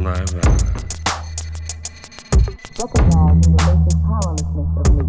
saliva. Recognizing the basic powerlessness of me.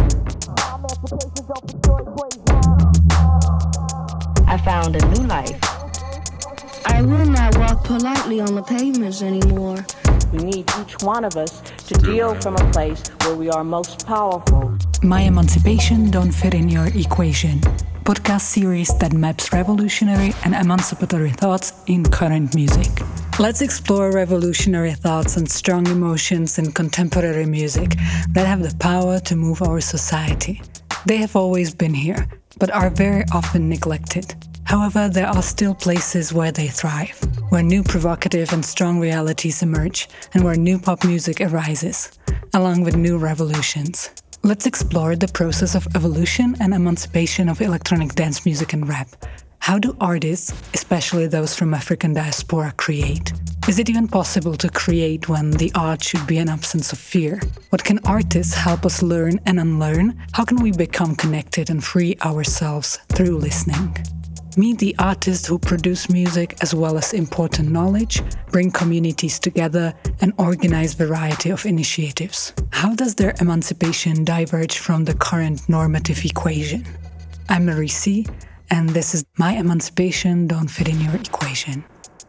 I found a new life. I will not walk politely on the pavements anymore. We need each one of us to deal from a place where we are most powerful. My Emancipation Don't Fit in Your Equation. Podcast series that maps revolutionary and emancipatory thoughts in current music. Let's explore revolutionary thoughts and strong emotions in contemporary music that have the power to move our society. They have always been here, but are very often neglected. However, there are still places where they thrive, where new provocative and strong realities emerge, and where new pop music arises, along with new revolutions. Let's explore the process of evolution and emancipation of electronic dance music and rap. How do artists, especially those from African diaspora, create? Is it even possible to create when the art should be an absence of fear? What can artists help us learn and unlearn? How can we become connected and free ourselves through listening? Meet the artists who produce music as well as important knowledge, bring communities together, and organize variety of initiatives. How does their emancipation diverge from the current normative equation? I'm Marie C., and this is My Emancipation Don't Fit in Your Equation.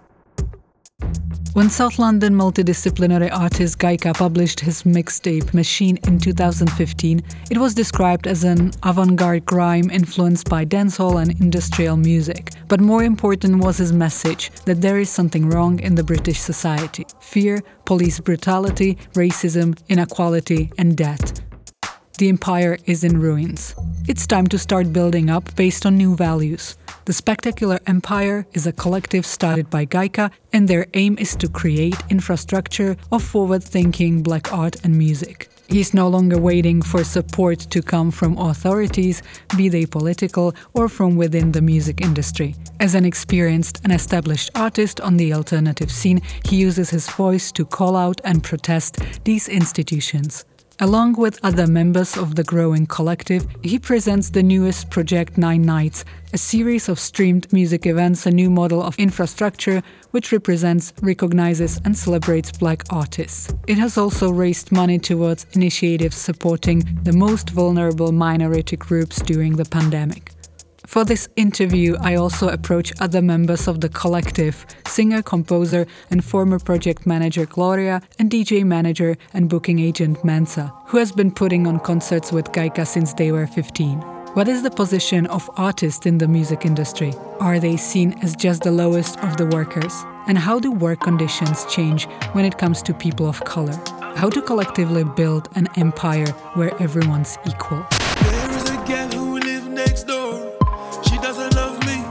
When South London multidisciplinary artist Gaika published his mixtape Machine in 2015, it was described as an avant-garde grime influenced by dancehall and industrial music. But more important was his message that there is something wrong in the British society: fear, police brutality, racism, inequality, and death. The empire is in ruins. It's time to start building up based on new values. The Spectacular Empire is a collective started by Gaika, and their aim is to create infrastructure of forward-thinking black art and music. He's no longer waiting for support to come from authorities, be they political or from within the music industry. As an experienced and established artist on the alternative scene, he uses his voice to call out and protest these institutions. Along with other members of the growing collective, he presents the newest Project 9 Nights, a series of streamed music events, a new model of infrastructure which represents, recognizes and celebrates black artists. It has also raised money towards initiatives supporting the most vulnerable minority groups during the pandemic. For this interview, I also approach other members of the collective, singer, composer, and former project manager Gloria, and DJ manager and booking agent Mensa, who has been putting on concerts with Gaika since they were 15. What is the position of artists in the music industry? Are they seen as just the lowest of the workers? And how do work conditions change when it comes to people of color? How to collectively build an empire where everyone's equal? There is a girl who lives next door. She doesn't love me.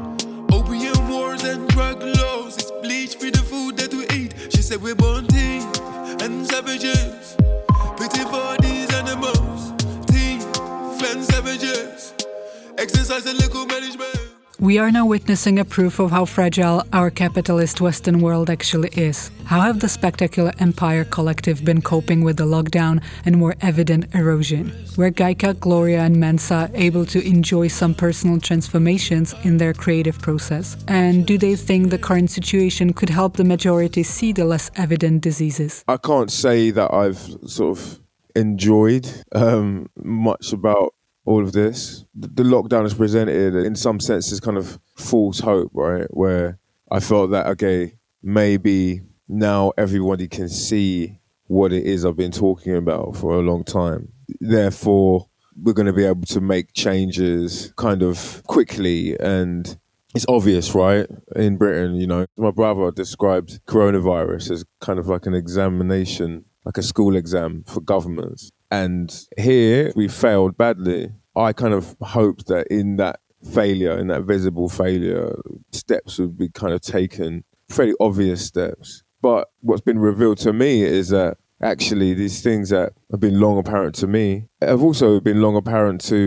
Opium wars and drug laws. It's bleach for the food that we eat. She said we're born thieves and savages. Pity for these animals. Thieves and savages. Exercise and liquor management. We are now witnessing a proof of how fragile our capitalist Western world actually is. How have the Spectacular Empire collective been coping with the lockdown and more evident erosion? Were Gaika, Gloria and Mensa able to enjoy some personal transformations in their creative process? And do they think the current situation could help the majority see the less evident diseases? I can't say that I've sort of enjoyed much about all of this. The lockdown is presented in some senses kind of false hope, right? Where I felt that, okay, maybe now everybody can see what it is I've been talking about for a long time. Therefore, we're going to be able to make changes kind of quickly. And it's obvious, right? In Britain, you know, my brother described coronavirus as kind of like an examination, like a school exam for governments. And here we failed badly. I kind of hoped that in that failure, in that visible failure, steps would be kind of taken, fairly obvious steps. But what's been revealed to me is that actually these things that have been long apparent to me have also been long apparent to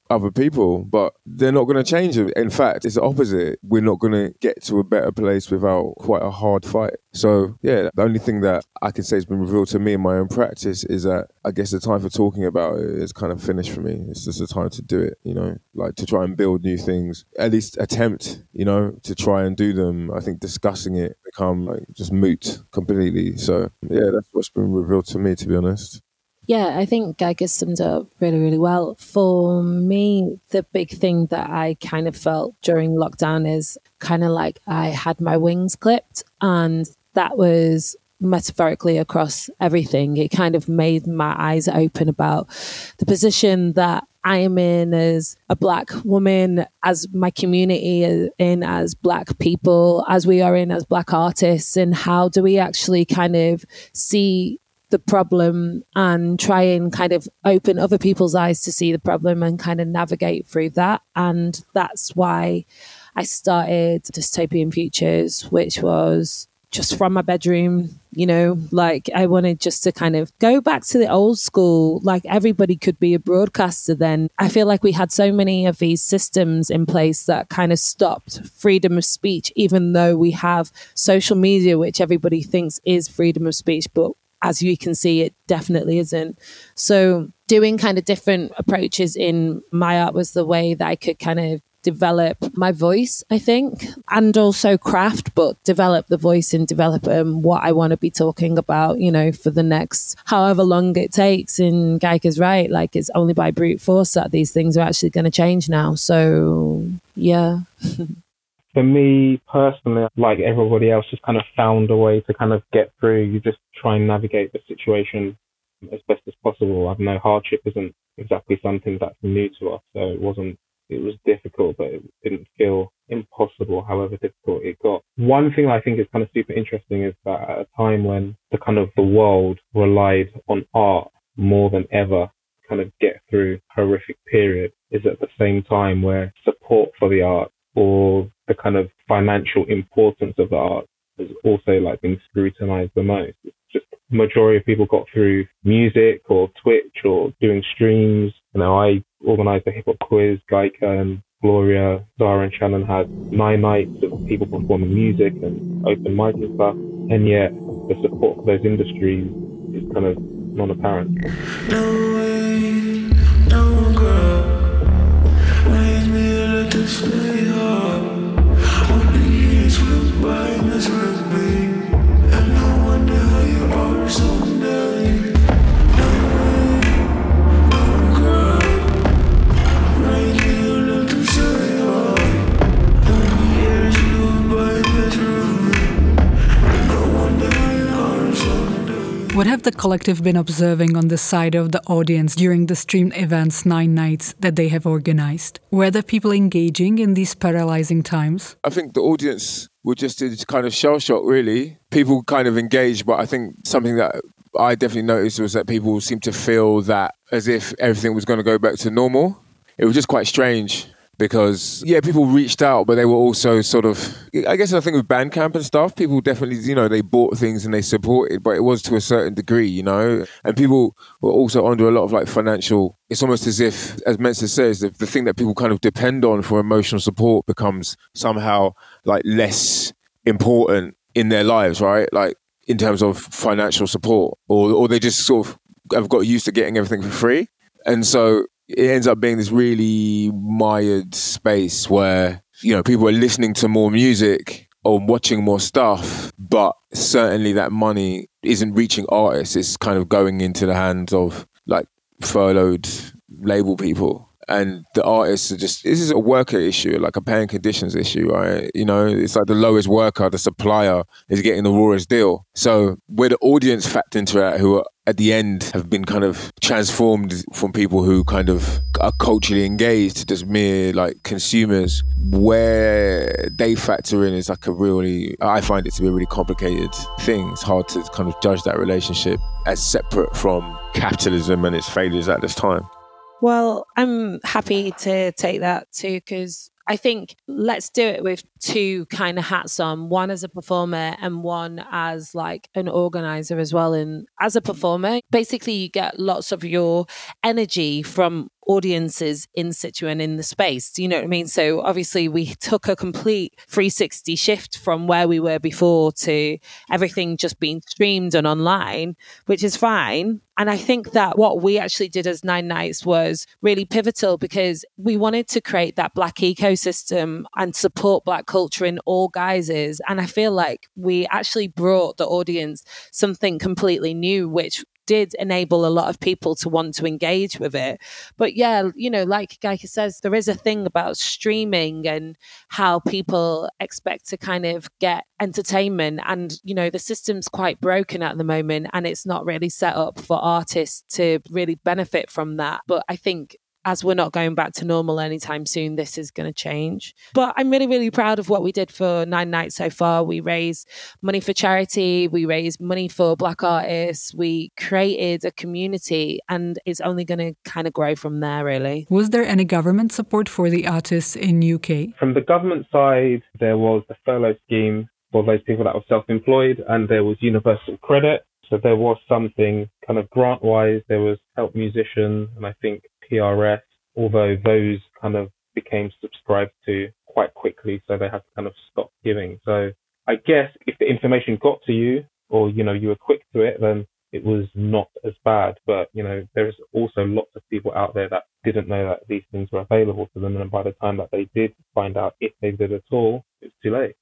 other people, but they're not going to change it. In fact, it's the opposite. We're not going to get to a better place without quite a hard fight. So, yeah, the only thing that I can say has been revealed to me in my own practice is that I guess the time for talking about it is kind of finished for me. It's just the time to do it, like to try and build new things, at least attempt, to try and do them. I think discussing it become like just moot completely. So, yeah, that's what's been revealed to me, to be honest. Yeah, I think Geiger summed it up really, really well. For me, the big thing that I kind of felt during lockdown is kind of like I had my wings clipped, and that was metaphorically across everything. It kind of made my eyes open about the position that I am in as a Black woman, as my community is in as Black people, as we are in as Black artists, and how do we actually kind of see the problem and try and kind of open other people's eyes to see the problem and kind of navigate through that. And that's why I started Dystopian Futures, which was just from my bedroom, like I wanted just to kind of go back to the old school, like everybody could be a broadcaster then. I feel like we had so many of these systems in place that kind of stopped freedom of speech, even though we have social media, which everybody thinks is freedom of speech, but as you can see, it definitely isn't. So doing kind of different approaches in my art was the way that I could kind of develop my voice, I think, and also craft, but develop the voice and develop what I want to be talking about, for the next however long it takes. And Geiger's right, like it's only by brute force that these things are actually going to change now. So, yeah. For me personally, like everybody else, just kind of found a way to kind of get through. You just try and navigate the situation as best as possible. I know hardship isn't exactly something that's new to us, so it was difficult, but it didn't feel impossible, however difficult it got. One thing I think is kind of super interesting is that at a time when the world relied on art more than ever to kind of get through a horrific period, is at the same time where support for the art or the kind of financial importance of the art has also like been scrutinized the most. It's just the majority of people got through music or Twitch or doing streams. I organized a hip hop quiz. Geica and Gloria, Zara and Shannon had 9 nights of people performing music and open mic and stuff. And yet the support for those industries is kind of non-apparent. No way, no girl. Raise me to let this stay hard. When the years went by and this with me, and I wonder how you are someday. No way, no girl. Raise me to let this stay hard. When the years went by and this with me, and I wonder how you are someday. What have the collective been observing on the side of the audience during the streamed events 9 nights that they have organized? Were the people engaging in these paralyzing times? I think the audience were just kind of shell-shocked, really. People kind of engaged, but I think something that I definitely noticed was that people seemed to feel that as if everything was going to go back to normal. It was just quite strange. Because, people reached out, but they were also sort of, I guess I think with Bandcamp and stuff, people definitely, they bought things and they supported, but it was to a certain degree, and people were also under a lot of like financial, it's almost as if, as Mensa says, the thing that people kind of depend on for emotional support becomes somehow like less important in their lives, right? Like in terms of financial support, or they just sort of have got used to getting everything for free. And so it ends up being this really mired space where, people are listening to more music or watching more stuff, but certainly that money isn't reaching artists. It's kind of going into the hands of like furloughed label people. And the artists are this is a worker issue, like a paying conditions issue, right? It's like the lowest worker, the supplier is getting the rawest deal. So where the audience factor into that, who are at the end have been kind of transformed from people who kind of are culturally engaged to just mere like consumers, where they factor in is like I find it to be a really complicated thing. It's hard to kind of judge that relationship as separate from capitalism and its failures at this time. Well, I'm happy to take that too, because I think let's do it with 2 kind of hats on, one as a performer and one as like an organizer as well. And as a performer, basically you get lots of your energy from audiences in situ and in the space. Do you know what I mean? So obviously we took a complete 360 shift from where we were before to everything just being streamed and online, which is fine. And I think that what we actually did as Nine Nights was really pivotal because we wanted to create that Black ecosystem and support Black culture in all guises. And I feel like we actually brought the audience something completely new, which did enable a lot of people to want to engage with it. But yeah, you know, like Geika says, there is a thing about streaming and how people expect to kind of get entertainment. And, you know, the system's quite broken at the moment and it's not really set up for artists to really benefit from that. But I think as we're not going back to normal anytime soon, this is going to change. But I'm really, really proud of what we did for Nine Nights so far. We raised money for charity. We raised money for Black artists. We created a community and it's only going to kind of grow from there, really. Was there any government support for the artists in UK? From the government side, there was the furlough scheme for those people that were self-employed, and there was universal credit. So there was something kind of grant-wise. There was Help Musician and I think PRS, although those kind of became subscribed to quite quickly, so they had to kind of stop giving. So I guess if the information got to you or, you know, you were quick to it, then it was not as bad. But, you know, there's also lots of people out there that didn't know that these things were available to them. And by the time that they did find out, if they did at all, it's too late.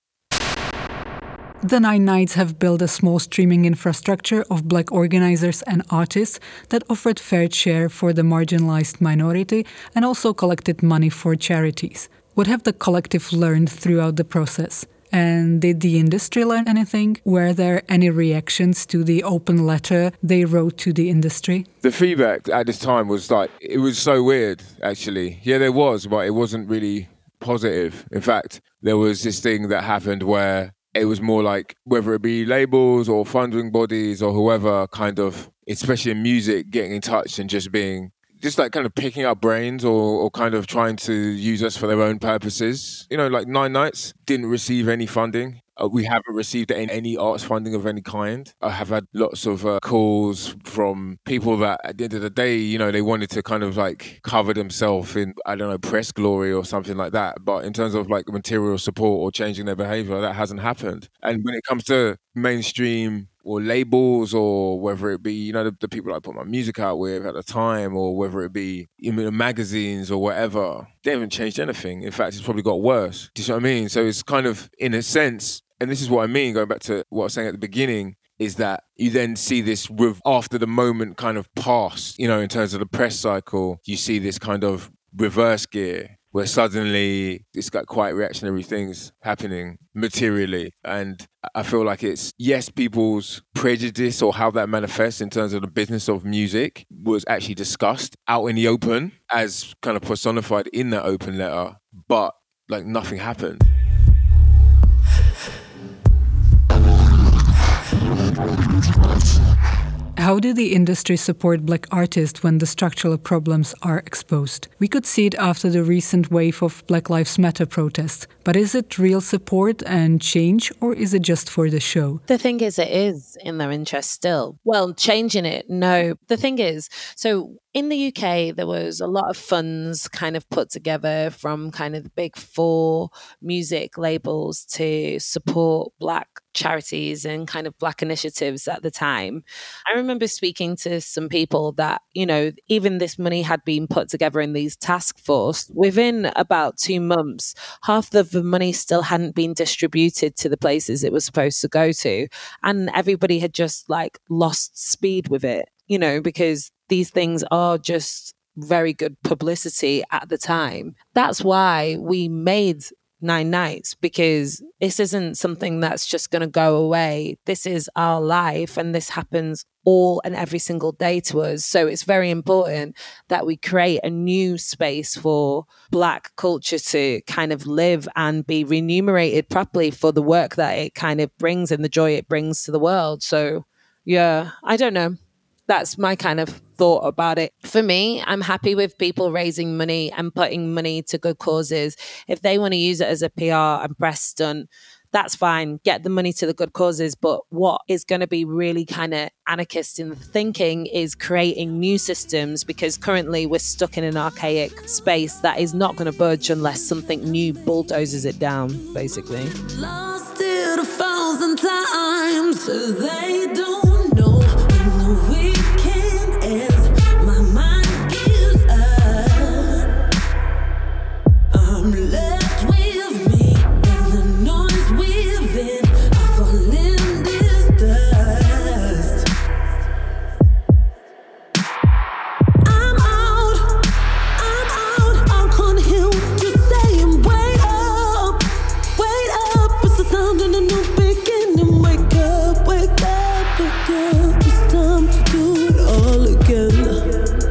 The Nine Nights have built a small streaming infrastructure of Black organizers and artists that offered fair share for the marginalized minority and also collected money for charities. What have the collective learned throughout the process? And did the industry learn anything? Were there any reactions to the open letter they wrote to the industry? The feedback at this time was like, it was so weird, actually. Yeah, there was, but it wasn't really positive. In fact, there was this thing that happened where it was more like, whether it be labels or funding bodies or whoever, kind of, especially in music, getting in touch and just being, just like kind of picking up brains or kind of trying to use us for their own purposes. You know, like Nine Nights didn't receive any funding. We haven't received any arts funding of any kind. I have had lots of calls from people that at the end of the day, you know, they wanted to kind of like cover themselves in, I don't know, press glory or something like that. But in terms of like material support or changing their behavior, that hasn't happened. And when it comes to mainstream or labels, or whether it be, you know, the people I put my music out with at the time, or whether it be in the magazines or whatever, they haven't changed anything. In fact, it's probably got worse. Do you know what I mean? So it's kind of, in a sense, and this is what I mean, going back to what I was saying at the beginning, is that you then see this after the moment kind of passed, you know, in terms of the press cycle, you see this kind of reverse gear where suddenly it's got quite reactionary things happening materially. And I feel like it's, yes, people's prejudice or how that manifests in terms of the business of music was actually discussed out in the open as kind of personified in that open letter, but like nothing happened. How did the industry support Black artists when the structural problems are exposed? We could see it after the recent wave of Black Lives Matter protests, but is it real support and change, or is it just for the show? The thing is, it is in their interest still. Well, changing it, no. The thing is, so in the UK, there was a lot of funds kind of put together from kind of the big four music labels to support Black charities and kind of Black initiatives at the time. I remember speaking to some people that, you know, even this money had been put together in these task force. Within about 2 months, half of the money still hadn't been distributed to the places it was supposed to go to. And everybody had just like lost speed with it, you know, because these things are just very good publicity at the time. That's why we made Nine Nights, because this isn't something that's just going to go away. This is our life and this happens all and every single day to us. So it's very important that we create a new space for Black culture to kind of live and be remunerated properly for the work that it kind of brings and the joy it brings to the world. So yeah, I don't know. That's my kind of thought about it. For me, I'm happy with people raising money and putting money to good causes. If they want to use it as a PR and press stunt, that's fine. Get the money to the good causes. But what is going to be really kind of anarchist in the thinking is creating new systems, because currently we're stuck in an archaic space that is not going to budge unless something new bulldozes it down, basically. Lost it 1,000 times, they don't know when the weekend ends. My mind gives up. I'm left with me and the noise within. I fall in this dust. I'm out. I can't hear what you're saying. Wait up. It's the sound of a new beginning. Wake up. It's time to do it all again.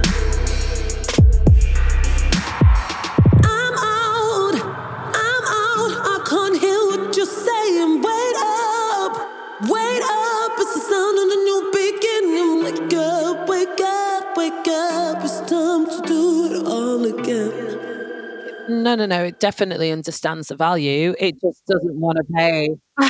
I'm out. I can't hear what you're saying. Wait up. It's the sound of a new beginning. Wake up. It's time to do it all again. No. It definitely understands the value. It just doesn't want to pay.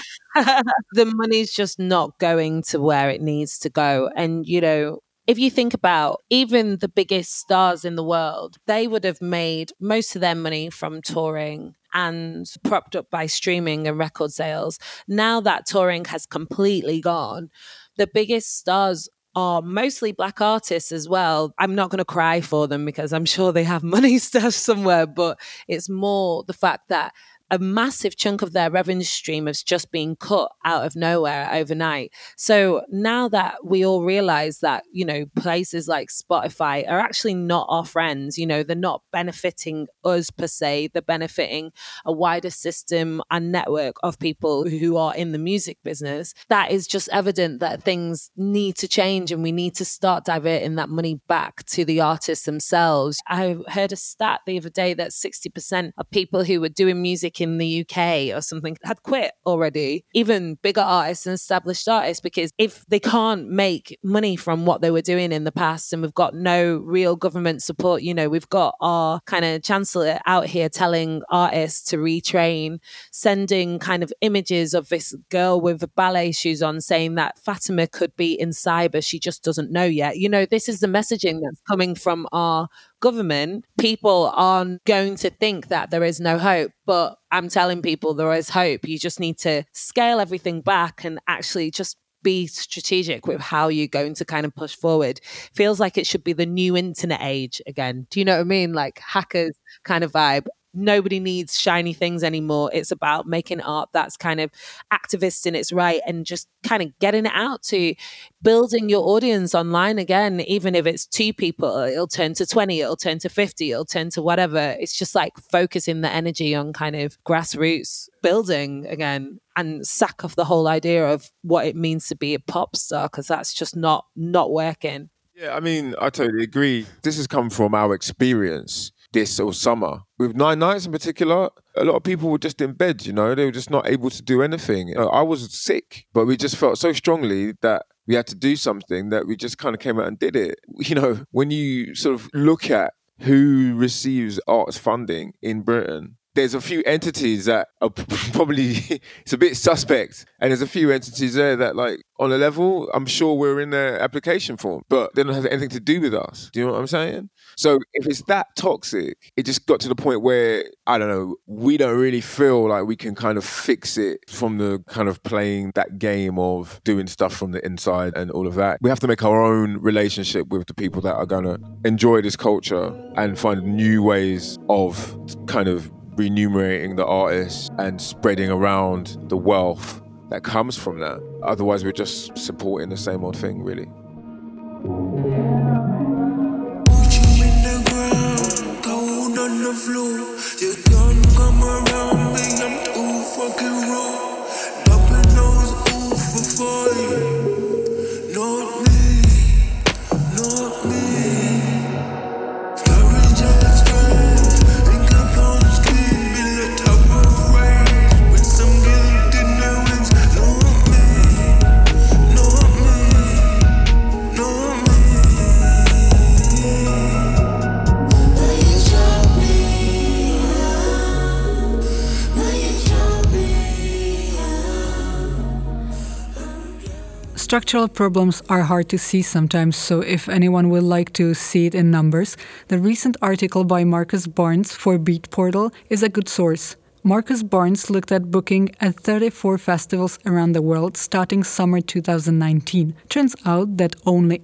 The money's just not going to where it needs to go. And, you know, if you think about even the biggest stars in the world, they would have made most of their money from touring and propped up by streaming and record sales. Now that touring has completely gone, the biggest stars are mostly Black artists as well. I'm not going to cry for them because I'm sure they have money stashed somewhere, but it's more the fact that a massive chunk of their revenue stream has just been cut out of nowhere overnight. So now that we all realize that, you know, places like Spotify are actually not our friends, you know, they're not benefiting us per se, they're benefiting a wider system and network of people who are in the music business. That is just evident that things need to change and we need to start diverting that money back to the artists themselves. I heard a stat the other day that 60% of people who were doing music in the UK or something had quit already, even bigger artists and established artists, because if they can't make money from what they were doing in the past and we've got no real government support, you know, we've got our kind of chancellor out here telling artists to retrain, sending kind of images of this girl with ballet shoes on saying that Fatima could be in cyber, she just doesn't know yet. You know, this is the messaging that's coming from our government. People aren't going to think that there is no hope, but I'm telling people there is hope. You just need to scale everything back and actually just be strategic with how you're going to kind of push forward. Feels like it should be the new internet age again. Do you know what I mean? Like hackers kind of vibe. Nobody needs shiny things anymore. It's about making art that's kind of activist in its right and just kind of getting it out to building your audience online again. Even if it's 2 people, it'll turn to 20, it'll turn to 50, it'll turn to whatever. It's just like focusing the energy on kind of grassroots building again and sack off the whole idea of what it means to be a pop star, because that's just not working. Yeah, I mean, I totally agree. This has come from our experience this or summer. With Nine Nights in particular, a lot of people were just in bed, you know, they were just not able to do anything. You know, I was sick, but we just felt so strongly that we had to do something that we just kind of came out and did it. You know, when you sort of look at who receives arts funding in Britain, there's a few entities that are probably, it's a bit suspect. And there's a few entities there that, like, on a level, I'm sure we're in their application form, but they don't have anything to do with us. Do you know what I'm saying? So if it's that toxic, it just got to the point where, I don't know, we don't really feel like we can kind of fix it from the kind of playing that game of doing stuff from the inside and all of that. We have to make our own relationship with the people that are going to enjoy this culture and find new ways of kind of remunerating the artists and spreading around the wealth that comes from that. Otherwise, we're just supporting the same old thing, really. Put you in the ground, cold on the floor. You don't come around me, I'm too fucking raw. Dropping those oof for you. Not me, not me. Structural problems are hard to see sometimes, so if anyone would like to see it in numbers, the recent article by Marcus Barnes for Beatportal is a good source. Marcus Barnes looked at booking at 34 festivals around the world starting summer 2019. Turns out that only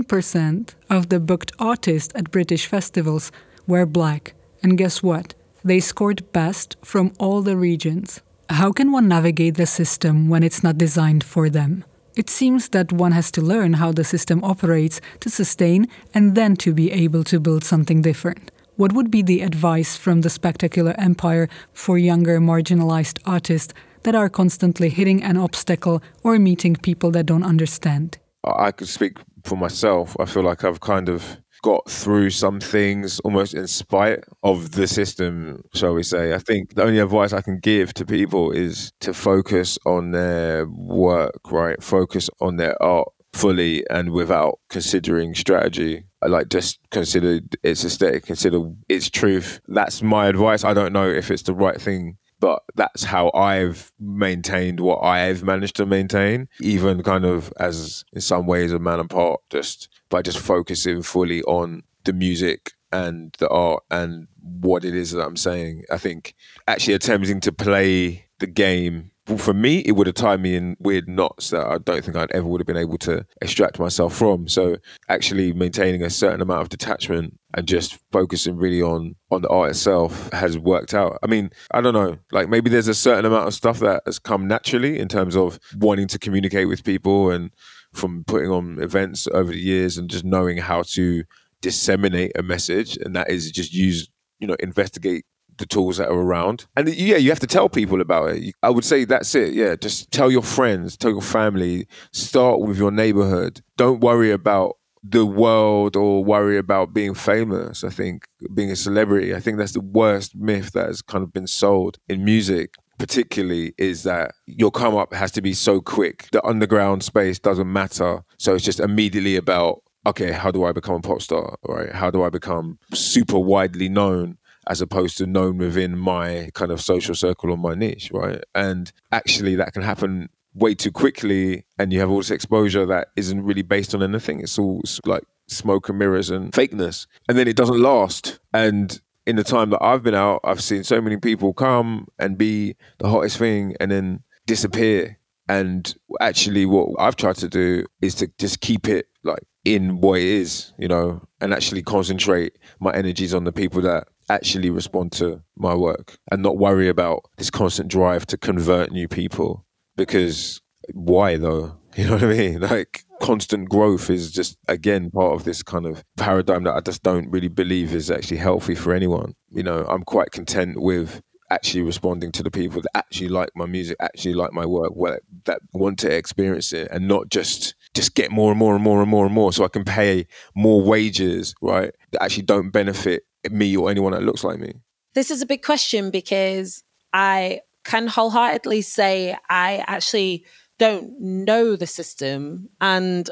18% of the booked artists at British festivals were black. And guess what? They scored best from all the regions. How can one navigate the system when it's not designed for them? It seems that one has to learn how the system operates to sustain and then to be able to build something different. What would be the advice from the Spectacular Empire for younger marginalized artists that are constantly hitting an obstacle or meeting people that don't understand? I could speak for myself. I feel like I've kind of got through some things almost in spite of the system, shall we say. I think the only advice I can give to people is to focus on their work, right? Focus on their art fully and without considering strategy. I like just consider its aesthetic, consider its truth. That's my advice. I don't know if it's the right thing, but that's how I've maintained what I've managed to maintain, even kind of as in some ways a man apart, just by just focusing fully on the music and the art and what it is that I'm saying. I think actually attempting to play the game, for me, it would have tied me in weird knots that I don't think I'd ever would have been able to extract myself from. So actually maintaining a certain amount of detachment and just focusing really on the art itself has worked out. I mean, I don't know, like maybe there's a certain amount of stuff that has come naturally in terms of wanting to communicate with people and from putting on events over the years and just knowing how to disseminate a message. And that is just investigate the tools that are around. And yeah, you have to tell people about it. I would say that's it. Yeah, just tell your friends, tell your family, start with your neighborhood. Don't worry about the world or worry about being famous. I think being a celebrity, I think that's the worst myth that has kind of been sold in music, particularly, is that your come up has to be so quick. The underground space doesn't matter. So it's just immediately about, okay, how do I become a pop star, right? How do I become super widely known as opposed to known within my kind of social circle or my niche, right? And actually that can happen way too quickly and you have all this exposure that isn't really based on anything. It's all like smoke and mirrors and fakeness. And then it doesn't last. And in the time that I've been out, I've seen so many people come and be the hottest thing and then disappear. And actually what I've tried to do is to just keep it like in what it is, and actually concentrate my energies on the people that actually respond to my work and not worry about this constant drive to convert new people. Because why though? You know what I mean? Like constant growth is just, again, part of this kind of paradigm that I just don't really believe is actually healthy for anyone. I'm quite content with actually responding to the people that actually like my music, actually like my work, that want to experience it and not just get more and more and more and more and more so I can pay more wages, right, that actually don't benefit me or anyone that looks like me. This is a big question because I can wholeheartedly say I actually don't know the system, and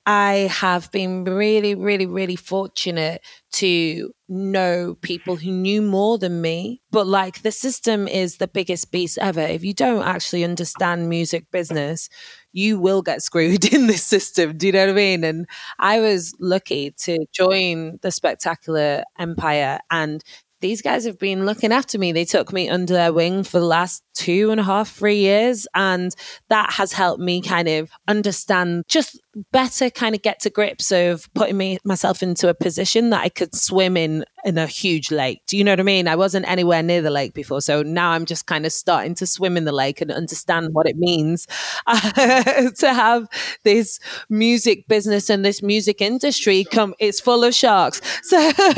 I have been really, really, really fortunate to know people who knew more than me. But like the system is the biggest beast ever. If you don't actually understand music business, you will get screwed in this system. Do you know what I mean? And I was lucky to join the Spectacular Empire, and these guys have been looking after me. They took me under their wing for the last 2.5, 3 years. And that has helped me kind of understand, just better kind of get to grips of putting myself into a position that I could swim in a huge lake. Do you know what I mean? I wasn't anywhere near the lake before. So now I'm just kind of starting to swim in the lake and understand what it means to have this music business and this music industry it's full of sharks. So,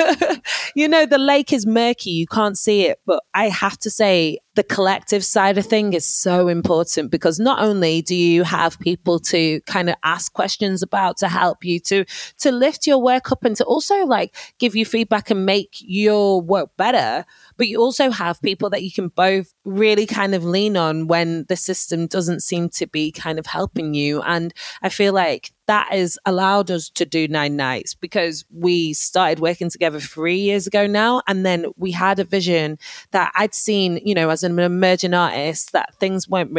the lake is murky. You can't see it. But I have to say, the collective side of thing is so important, because not only do you have people to kind of ask questions about, to help you to lift your work up and to also like give you feedback and make your work better, but you also have people that you can both really kind of lean on when the system doesn't seem to be kind of helping you. And I feel like that has allowed us to do 9 Nights, because we started working together 3 years ago now. And then we had a vision that I'd seen, as an emerging artist, that things weren't really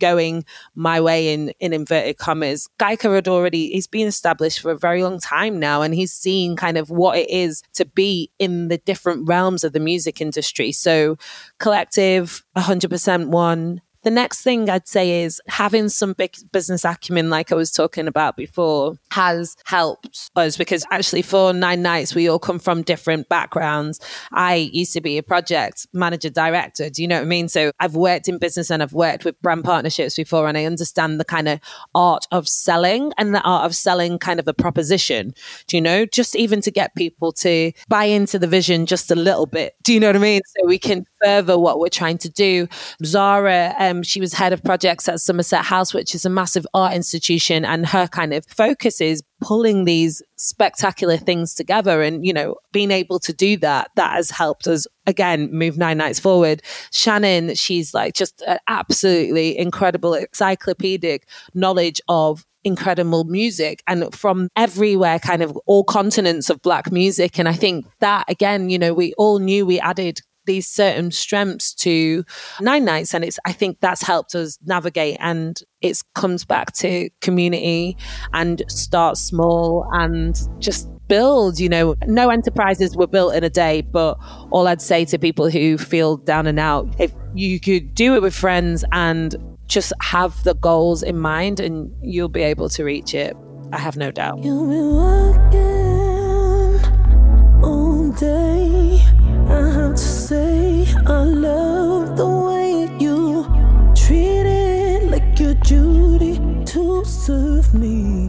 going my way in inverted commas. Guyka he's been established for a very long time now, and he's seen kind of what it is to be in the different realms of the music industry. So Collective, 100% one. The next thing I'd say is having some big business acumen, like I was talking about before, has helped us, because actually for Nine Nights, we all come from different backgrounds. I used to be a project manager director. Do you know what I mean? So I've worked in business and I've worked with brand partnerships before, and I understand the kind of art of selling and the art of selling kind of a proposition, do you know, just even to get people to buy into the vision just a little bit. Do you know what I mean? So we can further what we're trying to do. Zara, she was head of projects at Somerset House, which is a massive art institution, and her kind of focus is pulling these spectacular things together. And, you know, being able to do that has helped us, again, move Nine Nights forward. Shannon, she's like just an absolutely incredible encyclopedic knowledge of incredible music and from everywhere, kind of all continents of Black music. And I think that, again, you know, we all knew we added these certain strengths to Nine Nights, and I think that's helped us navigate. And it comes back to community and start small and just build. You know, no enterprises were built in a day, but all I'd say to people who feel down and out, if you could do it with friends and just have the goals in mind, and you'll be able to reach it. I have no doubt. You've been working all day. I have to say, I love the way you treat it like your duty to serve me.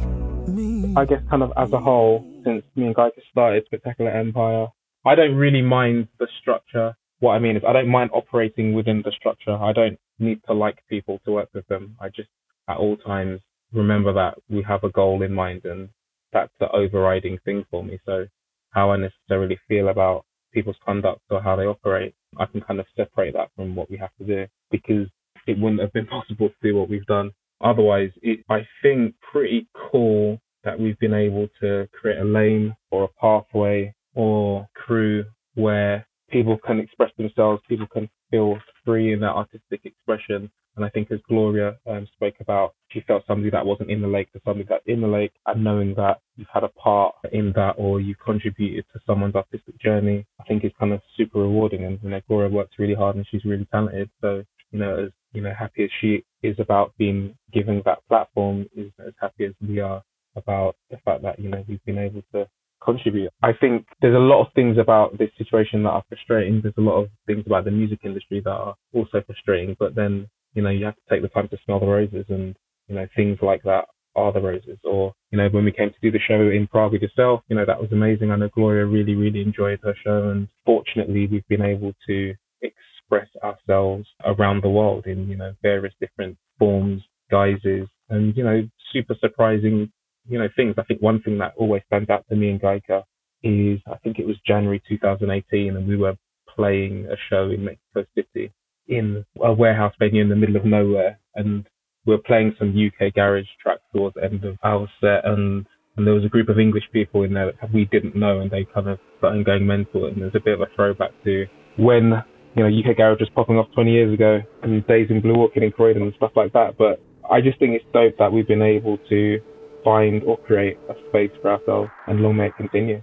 I guess kind of as a whole, since me and Guyka started Spectacular Empire, I don't really mind the structure. What I mean is I don't mind operating within the structure. I don't need to like people to work with them. I just at all times remember that we have a goal in mind, and that's the overriding thing for me. So how I necessarily feel about people's conduct or how they operate, I can kind of separate that from what we have to do, because it wouldn't have been possible to do what we've done otherwise. I think pretty cool that we've been able to create a lane or a pathway or crew where people can express themselves, people can feel free in their artistic expression. And I think as Gloria spoke about, she felt somebody that wasn't in the lake to somebody that's in the lake, and knowing that you've had a part in that or you contributed to someone's artistic journey, I think is kind of super rewarding. And, you know, Gloria works really hard and she's really talented. So, you know, as, you know, happy as she is about being given that platform, is as happy as we are about the fact that, you know, we've been able to contribute. I think there's a lot of things about this situation that are frustrating. There's a lot of things about the music industry that are also frustrating, but then, you know, you have to take the time to smell the roses, and, you know, things like that are the roses. Or, you know, when we came to do the show in Prague with yourself, you know, that was amazing. I know Gloria really, really enjoyed her show, and fortunately we've been able to express ourselves around the world in, you know, various different forms, guises, and, you know, super surprising, you know, things. I think one thing that always stands out to me and Guyka is, I think it was January 2018, and we were playing a show in Mexico City in a warehouse venue in the middle of nowhere, and we were playing some UK garage tracks towards the end of our set, and there was a group of English people in there that we didn't know, and they kind of started going mental. And there's a bit of a throwback to when, you know, UK garage was popping off 20 years ago, and Days in Blue Orchid in Croydon and stuff like that. But I just think it's dope that we've been able to find or create a space for ourselves, and long may it continue.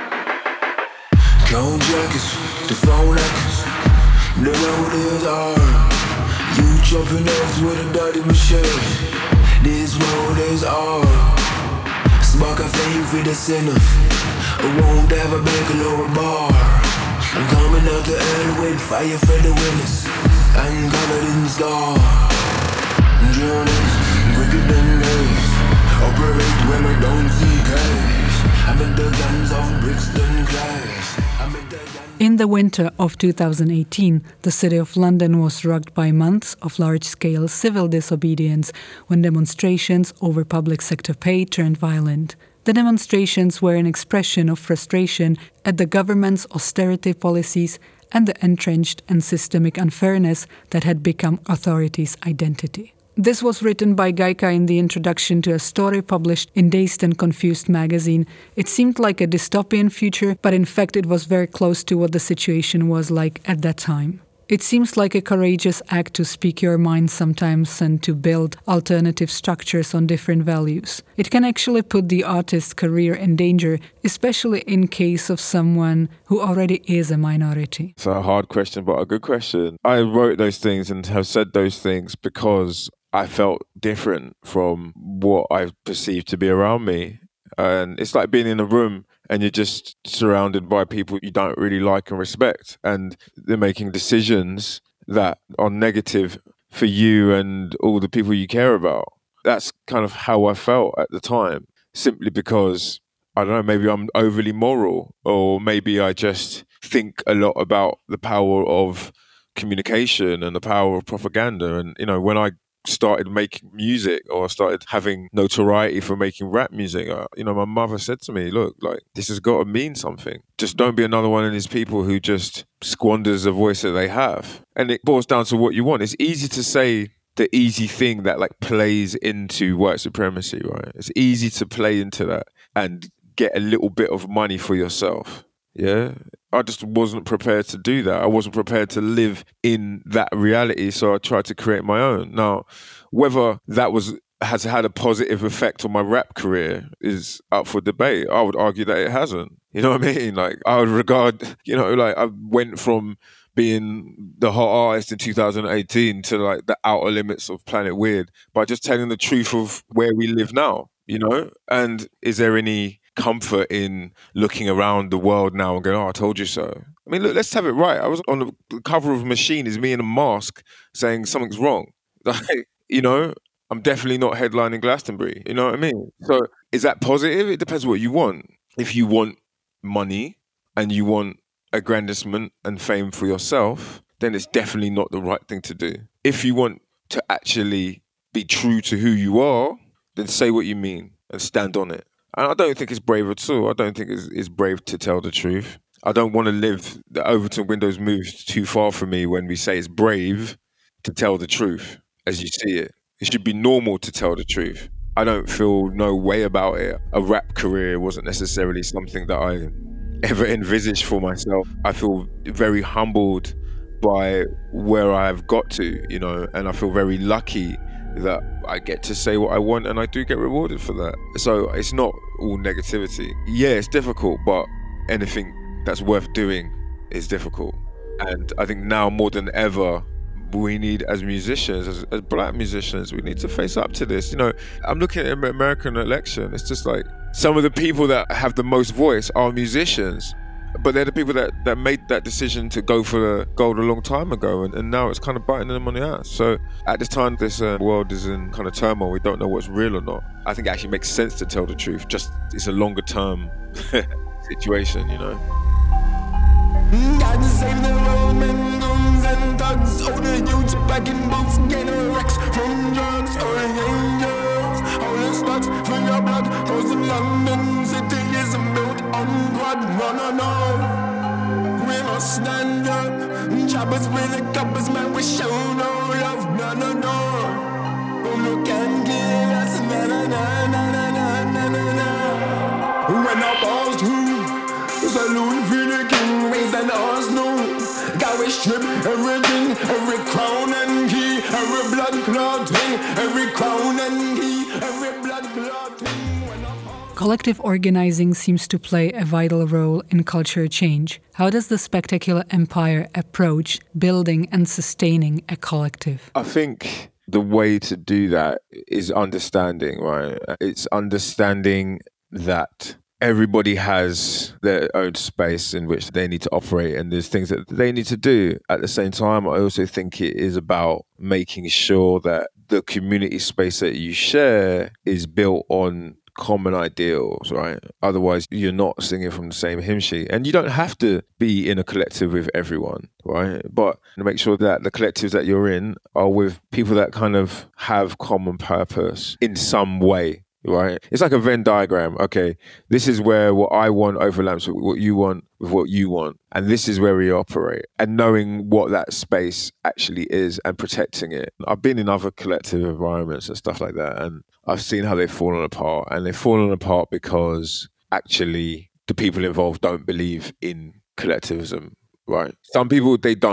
Cone jackets, the phone echoes, the road is hard. You chopping eggs with a dirty machine. This road is hard. Spark a flame for the sinners. I won't have a bagel or a bar. I'm coming out the hell with fire for the winners. I'm covered in scar. Drowning, quicker than days. Operate when I don't see cash. I'm in the guns of Brixton Clash. In the winter of 2018, the city of London was rocked by months of large-scale civil disobedience when demonstrations over public sector pay turned violent. The demonstrations were an expression of frustration at the government's austerity policies and the entrenched and systemic unfairness that had become authorities' identity. This was written by Guyka in the introduction to a story published in Dazed and Confused magazine. It seemed like a dystopian future, but in fact it was very close to what the situation was like at that time. It seems like a courageous act to speak your mind sometimes and to build alternative structures on different values. It can actually put the artist's career in danger, especially in case of someone who already is a minority. It's a hard question, but a good question. I wrote those things and have said those things because I felt different from what I perceived to be around me. And it's like being in a room and you're just surrounded by people you don't really like and respect. And they're making decisions that are negative for you and all the people you care about. That's kind of how I felt at the time, simply because, I don't know, maybe I'm overly moral, or maybe I just think a lot about the power of communication and the power of propaganda. And, you know, when I started making music, or started having notoriety for making rap music, you know, my mother said to me, look, like, this has got to mean something. Just don't be another one of these people who just squanders the voice that they have. And it boils down to what you want. It's easy to say the easy thing that like plays into white supremacy, right? It's easy to play into that and get a little bit of money for yourself. Yeah, I just wasn't prepared to do that. I wasn't prepared to live in that reality, so I tried to create my own. Now, whether that has had a positive effect on my rap career is up for debate. I would argue that it hasn't. You know what I mean? Like, I would regard, you know, like, I went from being the hot artist in 2018 to like the outer limits of Planet Weird by just telling the truth of where we live now, you know? And is there any comfort in looking around the world now and going, oh, I told you so? I mean, look, let's have it right. I was on the cover of Machine, is me in a mask saying something's wrong. Like, you know, I'm definitely not headlining Glastonbury. You know what I mean? So is that positive? It depends what you want. If you want money and you want aggrandizement and fame for yourself, then it's definitely not the right thing to do. If you want to actually be true to who you are, then say what you mean and stand on it. And I don't think it's brave at all. I don't think it's brave to tell the truth. I don't want to live the Overton Windows moves too far from me when we say it's brave to tell the truth as you see it. It should be normal to tell the truth. I don't feel no way about it. A rap career wasn't necessarily something that I ever envisaged for myself. I feel very humbled by where I've got to, you know, and I feel very lucky that I get to say what I want and I do get rewarded for that. So it's not all negativity. Yeah, it's difficult, but anything that's worth doing is difficult. And I think now more than ever, we need, as musicians, as black musicians, we need to face up to this. You know, I'm looking at the American election. It's just like some of the people that have the most voice are musicians, but they're the people that made that decision to go for the gold a long time ago, and now it's kind of biting them on the ass. So at this time, this world is in kind of turmoil. We don't know what's real or not. I think it actually makes sense to tell the truth. Just it's a longer term situation, you know. God save the Roman guns and thugs. All the youths back in boots, getting wrecks from drugs or angels. All the stocks for your blood, cause in London City is built on blood. No. We must stand up. Choppers with the coppers, man, we show no love. No. Who can kill us? Na. When our balls do, saloon for the king, raise an arsenal. God, we strip everything, every crown and key, every blood clot thing, every crown and key, every blood clot thing. Collective organizing seems to play a vital role in culture change. How does the Spectacular Empire approach building and sustaining a collective? I think the way to do that is understanding, right? It's understanding that everybody has their own space in which they need to operate, and there's things that they need to do. At the same time, I also think it is about making sure that the community space that you share is built on common ideals, right? Otherwise, you're not singing from the same hymn sheet. And you don't have to be in a collective with everyone, right? But make sure that the collectives that you're in are with people that kind of have common purpose in some way, right? It's like a Venn diagram. Okay, this is where what I want overlaps with what you want with what you want. And this is where we operate. And knowing what that space actually is and protecting it. I've been in other collective environments and stuff like that, and I've seen how they've fallen apart. And they've fallen apart because actually the people involved don't believe in collectivism, right? Some people, they don't.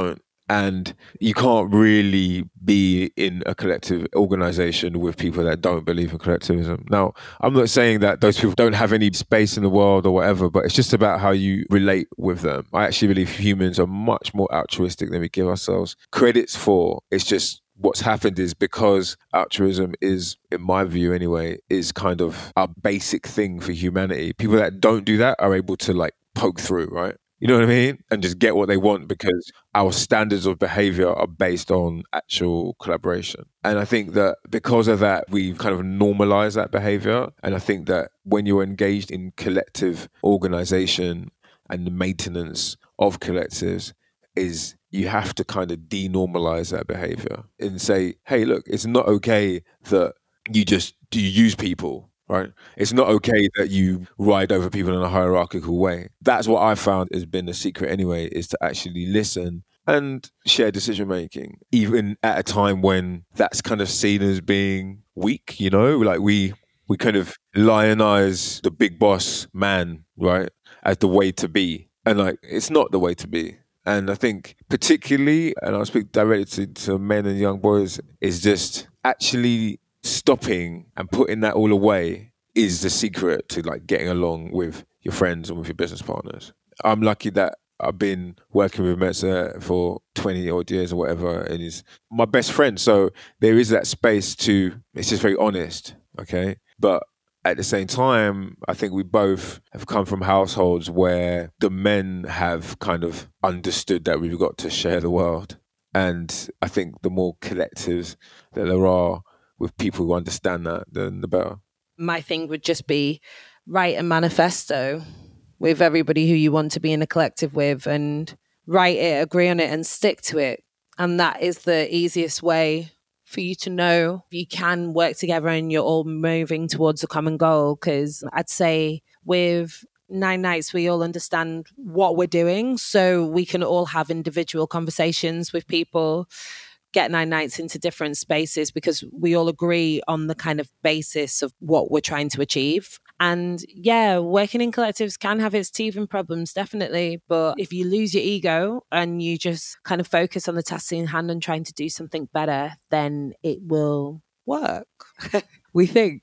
And you can't really be in a collective organization with people that don't believe in collectivism. Now, I'm not saying that those people don't have any space in the world or whatever, but it's just about how you relate with them. I actually believe humans are much more altruistic than we give ourselves credits for. It's just what's happened is because altruism is, in my view anyway, is kind of a basic thing for humanity. People that don't do that are able to like poke through, right? You know what I mean? And just get what they want because our standards of behavior are based on actual collaboration. And I think that because of that, we've kind of normalized that behavior. And I think that when you're engaged in collective organization and the maintenance of collectives is you have to kind of denormalize that behavior and say, hey, look, it's not okay that you use people. Right? It's not okay that you ride over people in a hierarchical way. That's what I found has been the secret anyway, is to actually listen and share decision making, even at a time when that's kind of seen as being weak, you know? Like we kind of lionize the big boss man, right, as the way to be. And like, it's not the way to be. And I think particularly, and I'll speak directly to men and young boys, is just actually stopping and putting that all away is the secret to like getting along with your friends and with your business partners. I'm lucky that I've been working with Metza for 20 odd years or whatever, and he's my best friend. So there is that space it's just very honest, okay? But at the same time, I think we both have come from households where the men have kind of understood that we've got to share the world. And I think the more collectives that there are with people who understand that, then the better. My thing would just be write a manifesto with everybody who you want to be in a collective with and write it, agree on it and stick to it. And that is the easiest way for you to know you can work together and you're all moving towards a common goal. Because I'd say with 9 Nights, we all understand what we're doing. So we can all have individual conversations with people, get 9 Nights into different spaces because we all agree on the kind of basis of what we're trying to achieve. And yeah, working in collectives can have its teething problems, definitely. But if you lose your ego and you just kind of focus on the task in hand and trying to do something better, then it will work, we think.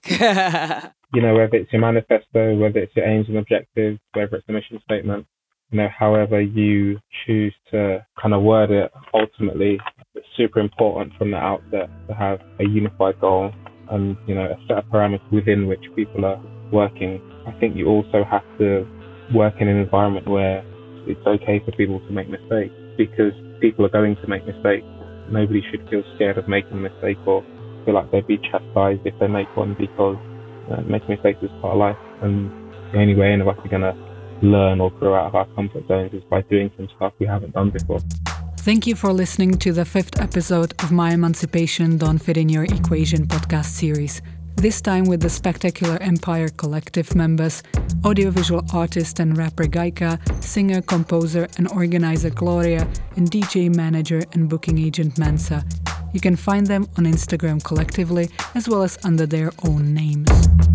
You know, whether it's your manifesto, whether it's your aims and objectives, whether it's a mission statement, you know, however you choose to kind of word it, ultimately, it's super important from the outset to have a unified goal and, you know, a set of parameters within which people are working. I think you also have to work in an environment where it's okay for people to make mistakes, because people are going to make mistakes. Nobody should feel scared of making a mistake or feel like they'd be chastised if they make one, because making mistakes is part of life, and the only way any of us are going to learn or grow out of our comfort zones is by doing some stuff we haven't done before. Thank you for listening to the 5th episode of My Emancipation Don't Fit in Your Equation podcast series. This time with the Spectacular Empire Collective members, audiovisual artist and rapper Gaika, singer, composer and organizer Gloria, and DJ manager and booking agent Mensa. You can find them on Instagram collectively as well as under their own names.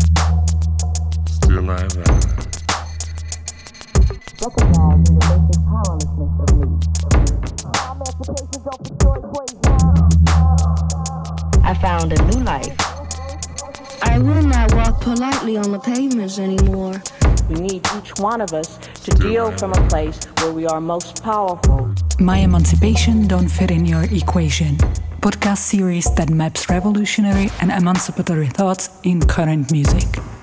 Still I rise. Recognizing the basic powerlessness of me. Emancipation don't destroy equation. I found a new life. I will not walk politely on the pavements anymore. We need each one of us to deal from a place where we are most powerful. My Emancipation Don't Fit in Your Equation. Podcast series that maps revolutionary and emancipatory thoughts in current music.